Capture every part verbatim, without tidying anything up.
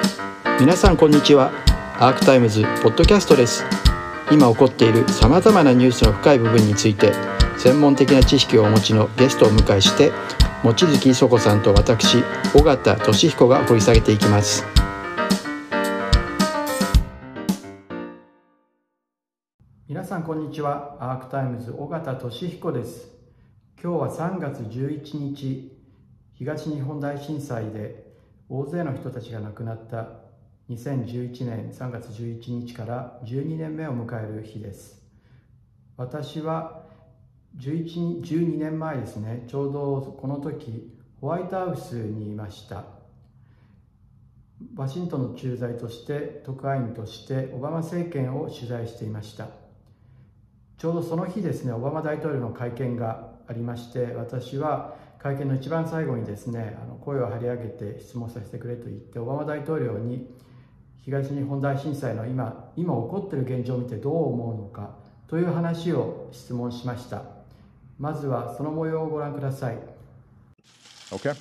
皆さんこんにちは。アークタイムズポッドキャストです。今起こっているさまざまなニュースの深い部分について専門的な知識をお持ちのゲストをお迎えして望月磯子さんと私尾形俊彦が掘り下げていきます。皆さんこんにちは。アークタイムズ尾形俊彦です。今日はさんがつじゅういちにち、東日本大震災で大勢の人たちが亡くなったにせんじゅういちねんさんがつじゅういちにちからじゅうにねんめを迎える日です。私はじゅういち、じゅうにねんまえですね、ちょうどこの時ホワイトハウスにいました。ワシントンの駐在として特派員としてオバマ政権を取材していました。ちょうどその日ですね、オバマ大統領の会見がありまして、私は会見の一番最後にですね、あの声を張り上げて質問させてくれと言ってオバマ大統領に東日本大震災の今今起こっている現状を見てどう思うのかという話を質問しました。まずはその模様をご覧ください。 Okay.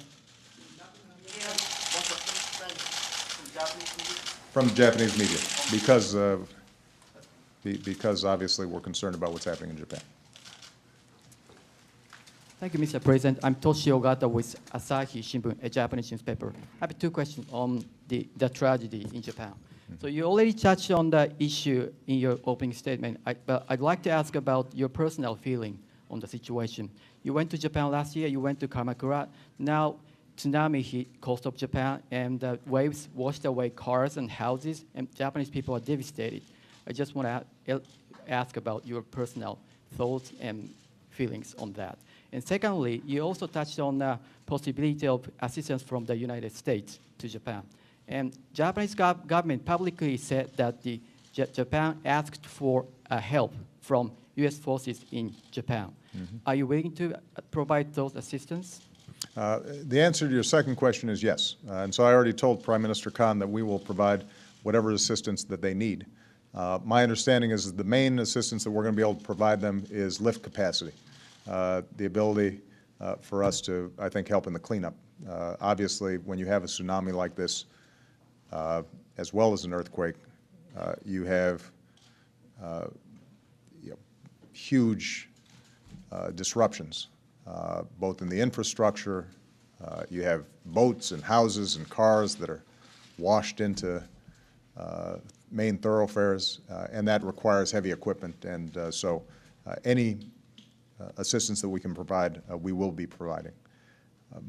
From Japanese media, because of because obviously we're concerned about what's happening in Japan. Thank you, Mister President. I'm Toshi Ogata with Asahi Shimbun, a Japanese newspaper. I have two questions on the, the tragedy in Japan. Mm-hmm. So you already touched on the issue in your opening statement, I, but I'd like to ask about your personal feeling on the situation. You went to Japan last year, you went to Kamakura. Now tsunami hit coast of Japan and the waves washed away cars and houses and Japanese people are devastated. I just want to ask about your personal thoughts and feelings on that. And secondly, you also touched on the possibility of assistance from the United States to Japan. And Japanese gov- government publicly said that the J- Japan asked for uh, help from U S forces in Japan. Mm-hmm. Are you willing to provide those assistance? Uh, the answer to your second question is yes. Uh, and so I already told Prime Minister Khan that we will provide whatever assistance that they need. Uh, my understanding is that the main assistance that we're going to be able to provide them is lift capacity. Uh, the ability uh, for us to, I think, help in the cleanup. Uh, obviously, when you have a tsunami like this, uh, as well as an earthquake, uh, you have uh, you know, huge uh, disruptions, uh, both in the infrastructure. Uh, you have boats and houses and cars that are washed into uh, main thoroughfares, uh, and that requires heavy equipment. And uh, so uh, any Uh, assistance that we can provide, uh, we will be providing. Um,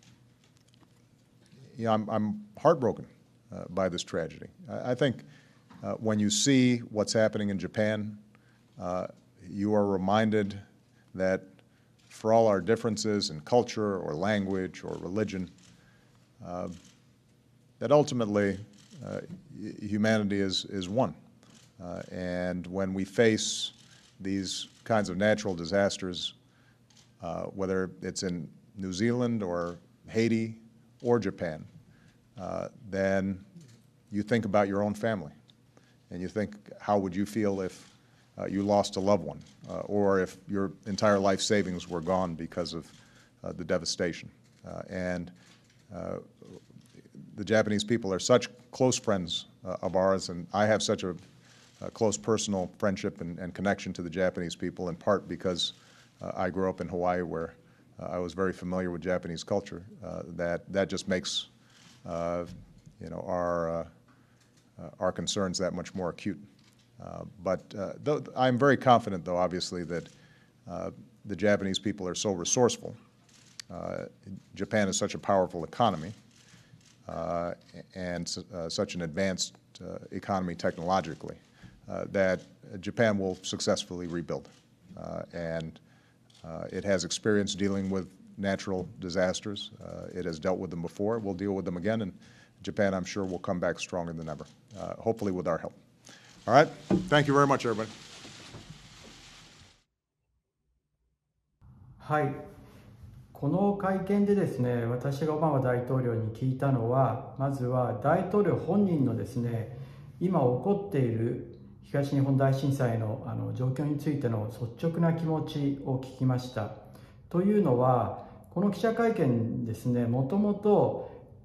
yeah, I'm, I'm heartbroken uh, by this tragedy. I, I think uh, when you see what's happening in Japan, uh, you are reminded that for all our differences in culture or language or religion, uh, that ultimately uh, humanity is, is one. Uh, and when we face these kinds of natural disasters, uh, whether it's in New Zealand or Haiti or Japan, uh, then you think about your own family. And you think, how would you feel if uh, you lost a loved one, uh, or if your entire life savings were gone because of uh, the devastation? Uh, and uh, the Japanese people are such close friends uh, of ours, and I have such a A close personal friendship and, and connection to the Japanese people, in part because uh, I grew up in Hawaii, where uh, I was very familiar with Japanese culture. Uh, that that just makes uh, you know our uh, uh, our concerns that much more acute. Uh, but uh, th- I'm very confident, though, obviously, that uh, the Japanese people are so resourceful. Uh, Japan is such a powerful economy uh, and uh, such an advanced uh, economy technologically. Uh, that Japan will successfully rebuild. Uh, and uh, it has experience dealing with natural disasters. Uh, it has dealt with them before. We'll deal with them again. And Japan, I'm sure, will come back stronger than ever, uh, hopefully with our help. All right? Thank you very much, everybody. はい。この会見でですね、私がオバマ大統領に聞いたのは、まずは大統領本人のですね、今起こっている東日本大震災 の, あの状況についての率直な気持ちを聞きました。というのは、この記者会見ですね、もともと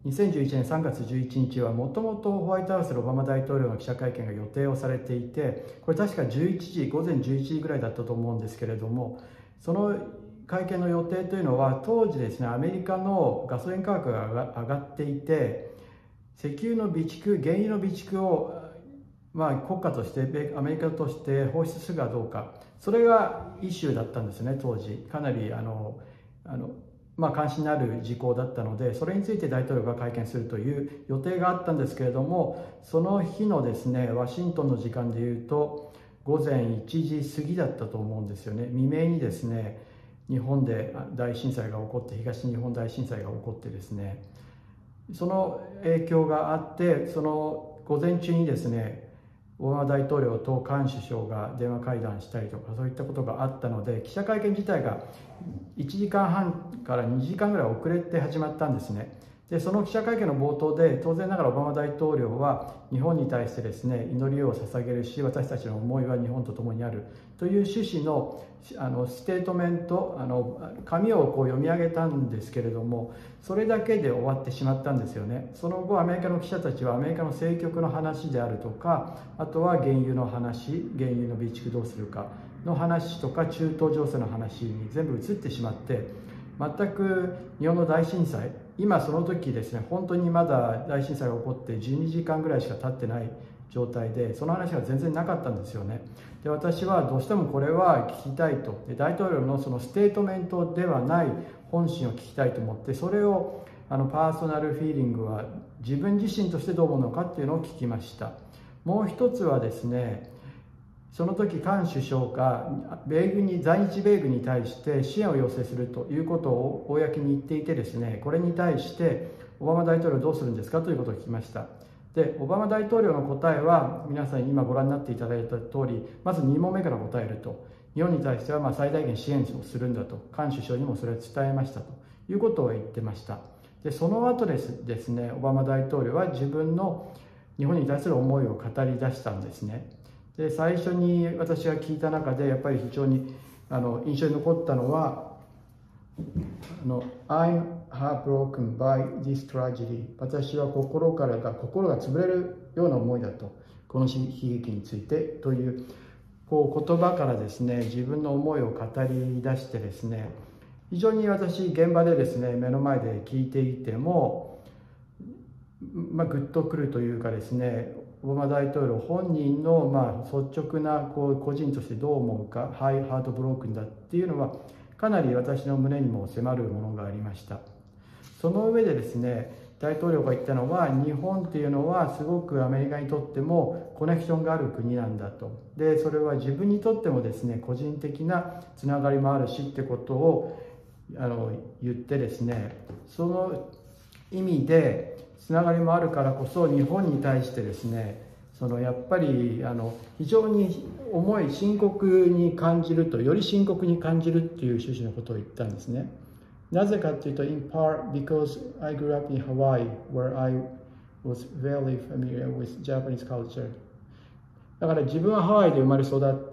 にせんじゅういちねんさんがつじゅういちにちはもともとホワイトハウスでオバマ大統領の記者会見が予定をされていて、これ確かじゅういちじ、午前じゅういちじぐらいだったと思うんですけれども、その会見の予定というのは、当時ですね、アメリカのガソリン価格が上がっていて、石油の備蓄、原油の備蓄を、まあ、国家として、アメリカとして放出するかどうか、それがイシューだったんですね、当時。かなりあのあの、まあ、関心のある事項だったので、それについて大統領が会見するという予定があったんですけれども、その日のですね、ワシントンの時間でいうと、午前いちじ過ぎだったと思うんですよね。未明にですね、日本で大震災が起こって、東日本大震災が起こってですね、その影響があって、その午前中にですね、オバマ大統領とカーン首相が電話会談したりとか、そういったことがあったので、記者会見自体がいちじかんはんからにじかんぐらい遅れて始まったんですね。で、その記者会見の冒頭で、当然ながらオバマ大統領は日本に対してですね、祈りを捧げるし、私たちの思いは日本と共にあるという趣旨のあのステートメント、あの紙をこう読み上げたんですけれども、それだけで終わってしまったんですよね。その後、アメリカの記者たちはアメリカの政局の話であるとか、あとは原油の話、原油の備蓄どうするかの話とか、中東情勢の話に全部移ってしまって、全く日本の大震災、今その時ですね、本当にまだ大震災が起こってじゅうにじかんぐらいしか経ってない状態で、その話が全然なかったんですよね。で、私はどうしてもこれは聞きたいと、で大統領のそのステートメントではない本心を聞きたいと思って、それをあのパーソナルフィーリングは自分自身としてどう思うのかっていうのを聞きました。もう一つはですね、その時カーン首相が米軍に在日米軍に対して支援を要請するということを公に言っていてですね、これに対してオバマ大統領どうするんですかということを聞きました。で、オバマ大統領の答えは皆さん今ご覧になっていただいた通り、まずに問目から答えると、日本に対してはまあ最大限支援をするんだと、カーン首相にもそれを伝えましたということを言ってました。で、その後ですですね、オバマ大統領は自分の日本に対する思いを語り出したんですね。で、最初に私が聞いた中でやっぱり非常にあの印象に残ったのは、あの I'm heartbroken by this tragedy。 私は心からが心が潰れるような思いだと、この悲劇についてというこう言葉からですね、自分の思いを語り出してですね、非常に私現場でですね、目の前で聞いていても、まあ、グッとくるというかですね、オバマ大統領本人のまあ率直なこう個人としてどう思うか、ハイハートブロークンだっていうのはかなり私の胸にも迫るものがありました。その上でですね、大統領が言ったのは、日本っていうのはすごくアメリカにとってもコネクションがある国なんだと。で、それは自分にとってもですね、個人的なつながりもあるしってことをあの言ってですね、その意味でつながりもあるからこそ、日本に対してですね、そのやっぱりあの非常に重い深刻に感じると、より深刻に感じるっていう趣旨のことを言ったんですね。なぜかというと、in part because I grew up in Hawaii where I was very familiar with Japanese culture。 だから自分はハワイで生まれ育って、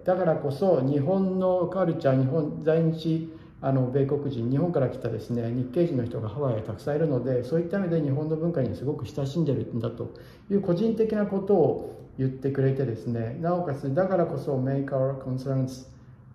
だからこそ日本のカルチャー、日本在日あの米国人、日本から来たですね、日系人の人がハワイにたくさんいるので、そういった意味で日本の文化にすごく親しんでるんだという個人的なことを言ってくれてですね、なおかつだからこそ make our concerns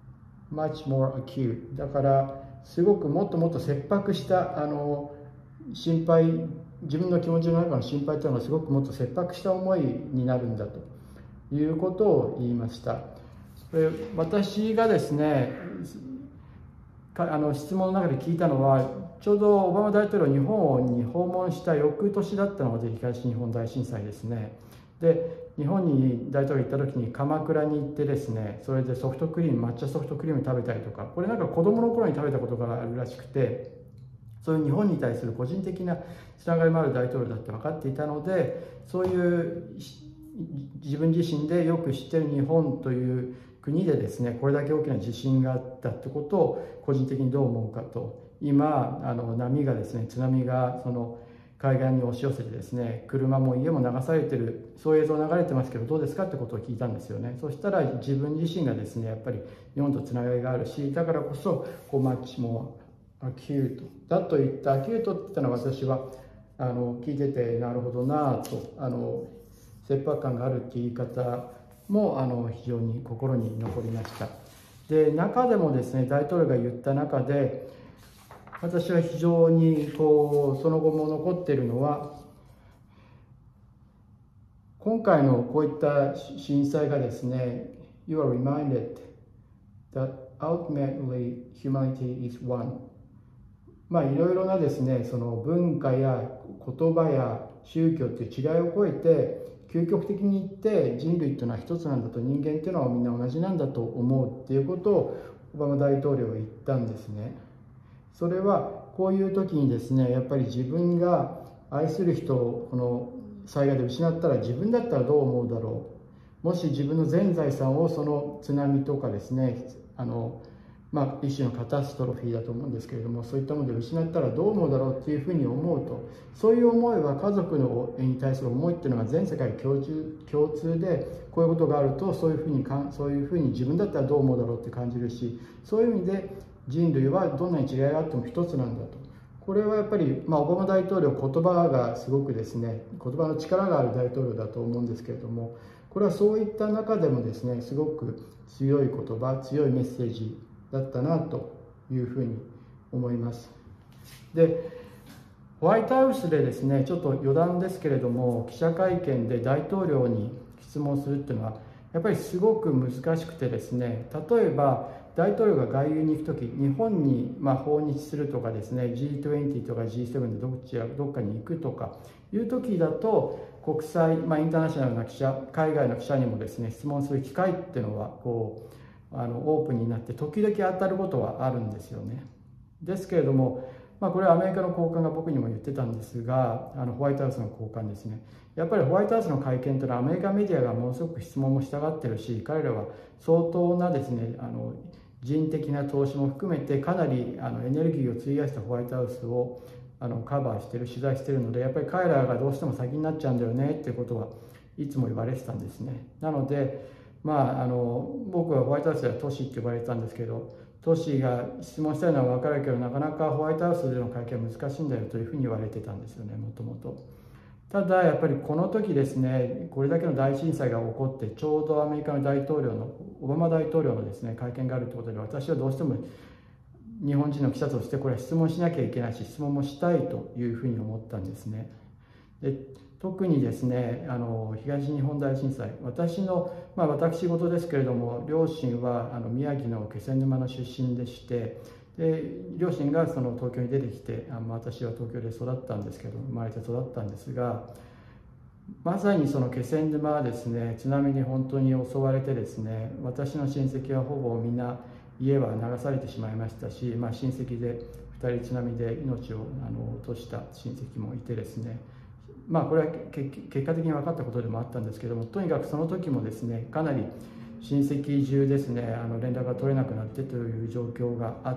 much more acute。 だからすごくもっともっと切迫したあの心配、自分の気持ちの中の心配というのがすごくもっと切迫した思いになるんだということを言いました。私がですね、あの質問の中で聞いたのは、ちょうどオバマ大統領日本に訪問した翌年だったので、東日本大震災ですね。で、日本に大統領行った時に鎌倉に行ってですね、それでソフトクリーム、抹茶ソフトクリーム食べたりとか、これなんか子供の頃に食べたことがあるらしくて、そういう日本に対する個人的なつながりもある大統領だって分かっていたので、そういう自分自身でよく知っている日本という国でですね、これだけ大きな地震があったってことを個人的にどう思うかと。今あの波がですね、津波がその海岸に押し寄せてですね、車も家も流されてる、そういう映像流れてますけどどうですかってことを聞いたんですよね。そしたら自分自身がですね、やっぱり日本とつながりがあるし、だからこそこうマッチもアキュートだと言った。アキュートって言ったのは、私はあの聞いててなるほどなと、あの切迫感があるっていう言い方もあの非常に心に残りました。で、中でもですね、大統領が言った中で、私は非常にこうその後も残っているのは、今回のこういった震災がですね、You are reminded that ultimately humanity is one。まあいろいろなですね、その文化や言葉や宗教という違いを超えて、究極的に言って人類というのは一つなんだと、人間というのはみんな同じなんだと思うっていうことをオバマ大統領は言ったんですね。それはこういう時にですね、やっぱり自分が愛する人をこの災害で失ったら自分だったらどう思うだろう。もし自分の全財産をその津波とかですね、あのまあ、一種のカタストロフィーだと思うんですけれども、そういったもので失ったらどう思うだろうっていうふうに思うと、そういう思いは家族のに対する思いっていうのが全世界共通共通で、こういうことがあるとそういうふうにかそういうふうに自分だったらどう思うだろうって感じるし、そういう意味で人類はどんなに違いがあっても一つなんだと。これはやっぱり、まあ、オバマ大統領、言葉がすごくですね、言葉の力がある大統領だと思うんですけれども、これはそういった中でもですね、すごく強い言葉、強いメッセージだったなというふうに思います。で、ホワイトハウスでですね、ちょっと余談ですけれども、記者会見で大統領に質問するっていうのはやっぱりすごく難しくてですね、例えば大統領が外遊に行くとき、日本にまあ訪日するとかですね、ジートゥエンティー とか ジーセブン でどっちやどっかに行くとかいうときだと、国際、まあ、インターナショナルな記者、海外の記者にもですね、質問する機会っていうのはこうあのオープンになって時々当たることはあるんですよね。ですけれども、まあ、これはアメリカの高官が僕にも言ってたんですが、あのホワイトハウスの高官ですね、やっぱりホワイトハウスの会見というのはアメリカメディアがものすごく質問もしたがってるし、彼らは相当なですね、あの人的な投資も含めてかなりあのエネルギーを費やしたホワイトハウスをあのカバーしてる、取材してるので、やっぱり彼らがどうしても先になっちゃうんだよねっていうことはいつも言われてたんですね。なので、まあ、あの僕はホワイトハウスではトシって呼ばれてたんですけど、トシが質問したいのは分かるけど、なかなかホワイトハウスでの会見は難しいんだよというふうに言われてたんですよね、もともと。ただやっぱりこの時ですね、これだけの大震災が起こって、ちょうどアメリカの大統領のオバマ大統領のですね会見があるということで、私はどうしても日本人の記者としてこれは質問しなきゃいけないし、質問もしたいというふうに思ったんですね。で特にですね、あの東日本大震災、私の、まあ、私事ですけれども、両親はあの宮城の気仙沼の出身でして、で両親がその東京に出てきて、あの私は東京で育ったんですけど、生まれて育ったんですが、まさにその気仙沼はですね、津波に本当に襲われてですね、私の親戚はほぼみんな家は流されてしまいましたし、まあ、親戚でふたり津波で命をあの落とした親戚もいてですね、まあこれは結果的に分かったことでもあったんですけども、とにかくその時もですね、かなり親戚中ですね、あの連絡が取れなくなってという状況があって、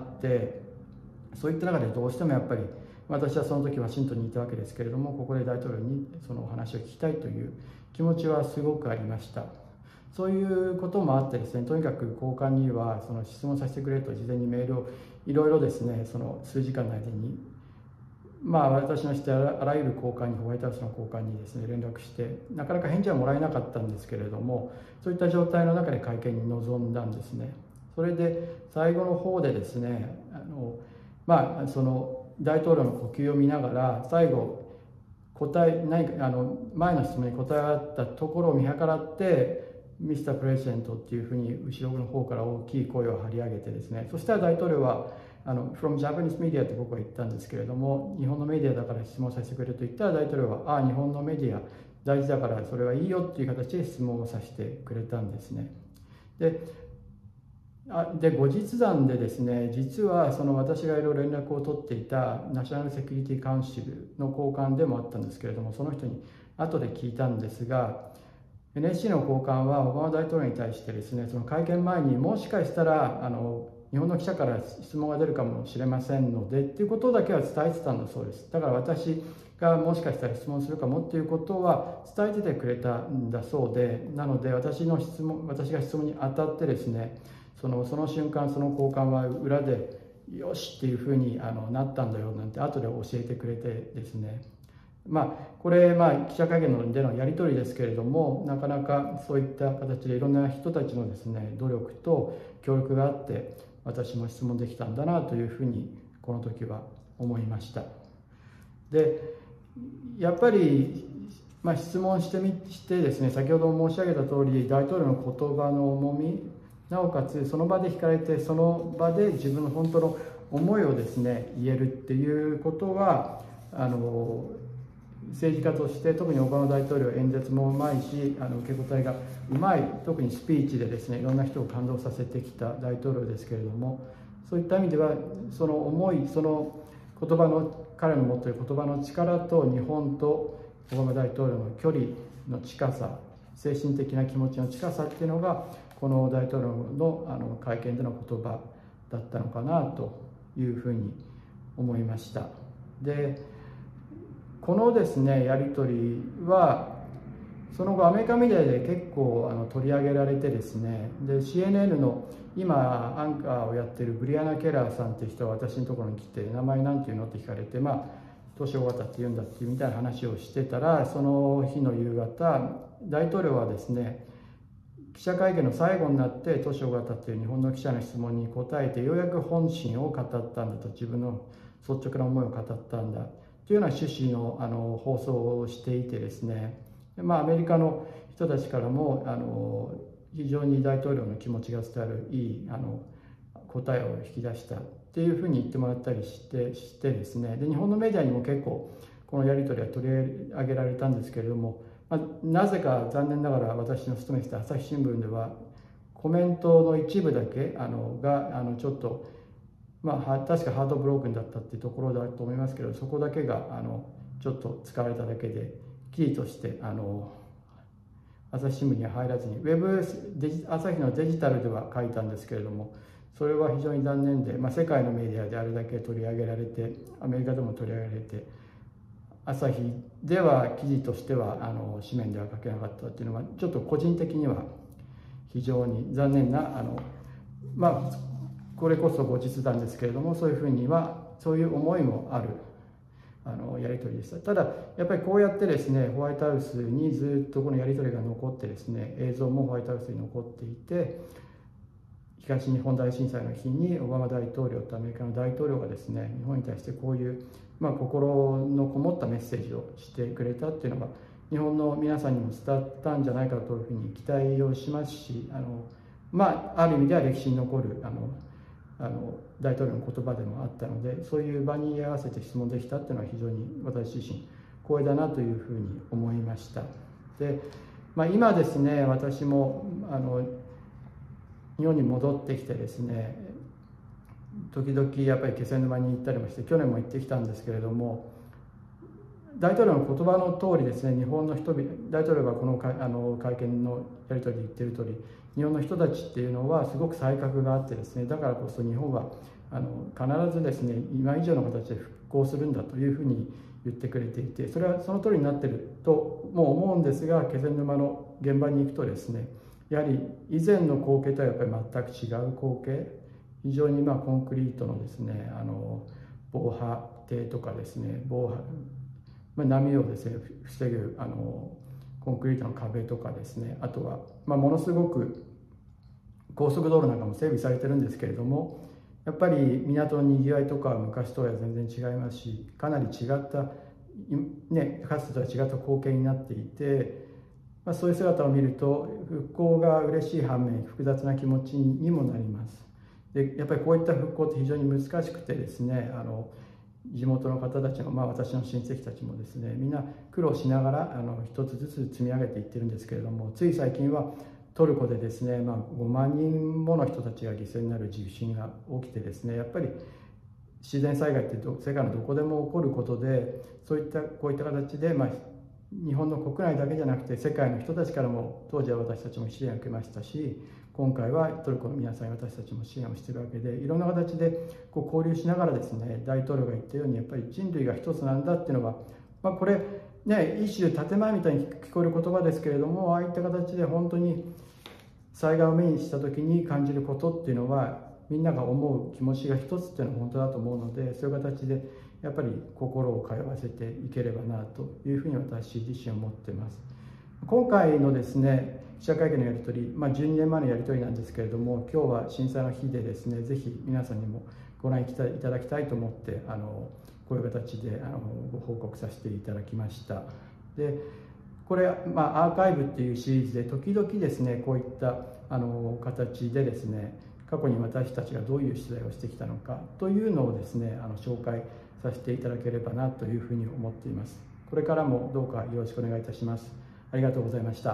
そういった中でどうしてもやっぱり私はその時ワシントンにいたわけですけれども、ここで大統領にそのお話を聞きたいという気持ちはすごくありました。そういうこともあってですね、とにかく高官にはその質問させてくれと事前にメールをいろいろですね、その数時間の間に、まあ私の知ってあらゆる高官に、ホワイトハウスの高官にですね連絡して、なかなか返事はもらえなかったんですけれども、そういった状態の中で会見に臨んだんですね。それで最後の方でですね、あのまあその大統領の呼吸を見ながら、最後答え何かあの前の質問に答え合ったところを見計らって、ミスタープレジデントっていうふうに後ろの方から大きい声を張り上げてですね、そしたら大統領はあの from Japanese media って僕は言ったんですけれども、日本のメディアだから質問させてくれと言ったら、大統領はああ日本のメディア大事だからそれはいいよっていう形で質問をさせてくれたんですね。であで後日談でですね、実はその私がいろいろ連絡を取っていたナショナルセキュリティカウンシルの高官でもあったんですけれども、その人に後で聞いたんですが、 エヌエスシー の高官はオバマ大統領に対してですね、その会見前にもしかしたらあの日本の記者から質問が出るかもしれませんのでっていうことだけは伝えてたんだそうです。だから私がもしかしたら質問するかもっていうことは伝えててくれたんだそうで、なので私の質問私が質問に当たってですね、そのその瞬間その高官は裏でよしっていうふうにあのなったんだよなんて後で教えてくれてですね、 まあ、これ、まあ、記者会見でのやり取りですけれども、なかなかそういった形でいろんな人たちのですね、努力と協力があって、私も質問できたんだなというふうに、この時は思いました。で、やっぱり、まあ、質問してみしてですね、先ほど申し上げた通り、大統領の言葉の重み、なおかつその場で聞かれて、その場で自分の本当の思いをですね、言えるっていうことは、あの政治家として特にオバマ大統領演説もうまいし、あの受け答えがうまい、特にスピーチでですねいろんな人を感動させてきた大統領ですけれども、そういった意味ではその思い、その言葉の彼の持っている言葉の力と日本とオバマ大統領の距離の近さ、精神的な気持ちの近さっていうのがこの大統領のあの会見での言葉だったのかなというふうに思いました。でこのですねやり取りはその後アメリカメディアで結構あの取り上げられてですね、で シーエヌエヌ の今アンカーをやってるブリアナ・ケラーさんっていう人が私のところに来て、名前なんていうのって聞かれて、まあ年尾形って言うんだっていうみたいな話をしてたら、その日の夕方大統領はですね記者会見の最後になって年尾形っていう日本の記者の質問に答えて、ようやく本心を語ったんだと、自分の率直な思いを語ったんだというような趣旨のあの放送をしていてですね、まあ、アメリカの人たちからもあの非常に大統領の気持ちが伝わるいいあの答えを引き出したっていうふうに言ってもらったりしてしてですね、で日本のメディアにも結構このやり取りは取り上げられたんですけれども、まあ、なぜか残念ながら私の勤めてた朝日新聞ではコメントの一部だけあのがあのちょっとまあ、確かハートブロークンだったっていうところだと思いますけど、そこだけがあのちょっと使われただけで、キーとしてあの朝日新聞には入らずに、ウェブデジ朝日のデジタルでは書いたんですけれども、それは非常に残念で、まあ、世界のメディアであれだけ取り上げられて、アメリカでも取り上げられて、朝日では記事としてはあの紙面では書けなかったっていうのは、ちょっと個人的には非常に残念なあのまあこれこそ後日談ですけれども、そういうふうにはそういう思いもあるあのやり取りでした。ただやっぱりこうやってですねホワイトハウスにずっとこのやり取りが残ってですね、映像もホワイトハウスに残っていて、東日本大震災の日にオバマ大統領とアメリカの大統領がですね日本に対してこういう、まあ、心のこもったメッセージをしてくれたっていうのが日本の皆さんにも伝わったんじゃないかというふうに期待をしますし、あのまあある意味では歴史に残るあのあの大統領の言葉でもあったので、そういう場に合わせて質問できたっていうのは非常に私自身光栄だなというふうに思いました。で、まあ、今ですね私もあの日本に戻ってきてですね、時々やっぱり気仙沼に行ったりもして、去年も行ってきたんですけれども、大統領の言葉の通りですね、日本の人々、大統領がこの会あの会見のやり取りで言ってる通り、日本の人たちっていうのはすごく才覚があってですね、だからこそ日本はあの必ずですね今以上の形で復興するんだというふうに言ってくれていて、それはその通りになってるとも思うんですが、気仙沼の現場に行くとですね、やはり以前の光景とはやっぱり全く違う光景、非常にまあコンクリートのですねあの防波堤とかですね、防波、まあ、波をですね防ぐあのコンクリートの壁とかですね、あとは、まあ、ものすごく高速道路なんかも整備されてるんですけれども、やっぱり港のにぎわいとかは昔とは全然違いますし、かなり違った、ね、かつてとは違った光景になっていて、まあ、そういう姿を見ると復興が嬉しい反面複雑な気持ちにもなります。でやっぱりこういった復興って非常に難しくてですね、あの地元の方たちの、まあ、私の親戚たちもですねみんな苦労しながらあの一つずつ積み上げていってるんですけれども、つい最近はトルコでですね、まあ、ごまんにんもの人たちが犠牲になる地震が起きてですね、やっぱり自然災害って世界のどこでも起こることで、そういったこういった形で、まあ、日本の国内だけじゃなくて世界の人たちからも当時は私たちも支援を受けましたし、今回はトルコの皆さん私たちも支援をしているわけで、いろんな形でこう交流しながらですね、大統領が言ったようにやっぱり人類が一つなんだっていうのが、まあ、これね一種建前みたいに聞こえる言葉ですけれども、ああいった形で本当に災害を目にした時に感じることっていうのはみんなが思う気持ちが一つっていうのは本当だと思うので、そういう形でやっぱり心を通わせていければなというふうに私自身思っています。今回のですね記者会見のやり取り、まあ、じゅうにねんまえのやり取りなんですけれども、今日は震災の日でですね、ぜひ皆さんにもご覧いただきたいと思ってあのこういう形であのご報告させていただきました。でこれ、まあ、アーカイブっていうシリーズで時々ですねこういったあの形でですね過去に私たちがどういう取材をしてきたのかというのをですねあの紹介させていただければなというふうに思っています。これからもどうかよろしくお願いいたします。ありがとうございました。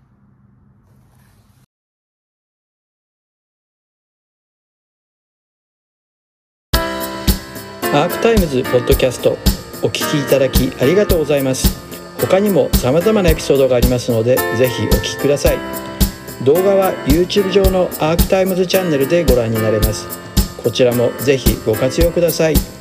アークタイムズポッドキャストお聞きいただきありがとうございます。他にも様々なエピソードがありますのでぜひお聞きください。動画は YouTube 上のアークタイムズチャンネルでご覧になれます。こちらもぜひご活用ください。